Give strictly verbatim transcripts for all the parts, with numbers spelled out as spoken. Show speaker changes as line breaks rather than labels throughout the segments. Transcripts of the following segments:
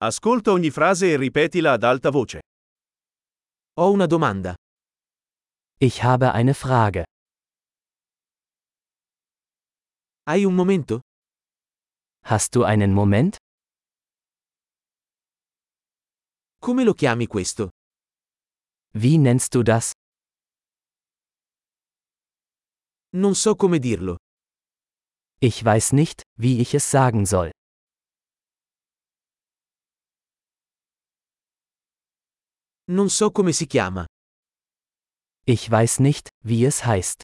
Ascolta ogni frase e ripetila ad alta voce.
Ho una domanda.
Ich habe eine Frage.
Hai un momento?
Hast du einen Moment?
Come lo chiami questo?
Wie nennst du das?
Non so come dirlo.
Ich weiß nicht, wie ich es sagen soll.
Non so come si chiama.
Ich weiß nicht, wie es heißt.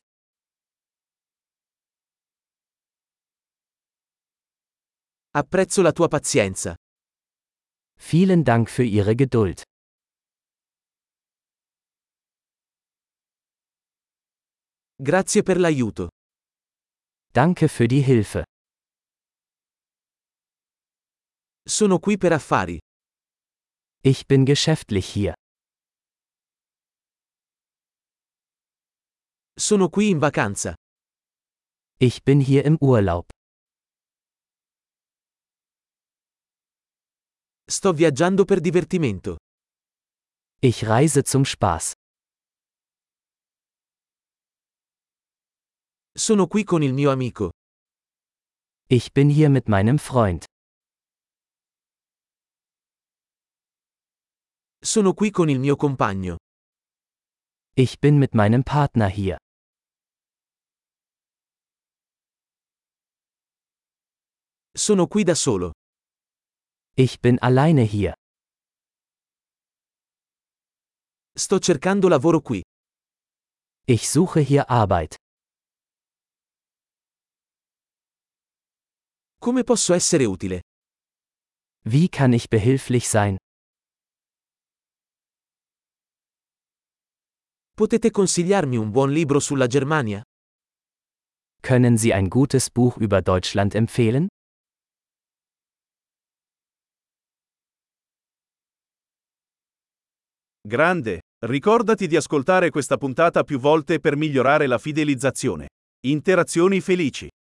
Apprezzo la tua pazienza.
Vielen Dank für Ihre Geduld.
Grazie per l'aiuto.
Danke für die Hilfe.
Sono qui per affari.
Ich bin geschäftlich hier.
Sono qui in vacanza.
Ich bin hier im Urlaub.
Sto viaggiando per divertimento.
Ich reise zum Spaß.
Sono qui con il mio amico.
Ich bin hier mit meinem Freund.
Sono qui con il mio compagno.
Ich bin mit meinem Partner hier.
Sono qui da solo.
Ich bin alleine hier.
Sto cercando lavoro qui.
Ich suche hier Arbeit.
Come posso essere utile?
Wie kann ich behilflich sein?
Potete consigliarmi un buon libro sulla Germania?
Können Sie ein gutes Buch über Deutschland empfehlen?
Grande, ricordati di ascoltare questa puntata più volte per migliorare la fidelizzazione. Interazioni felici.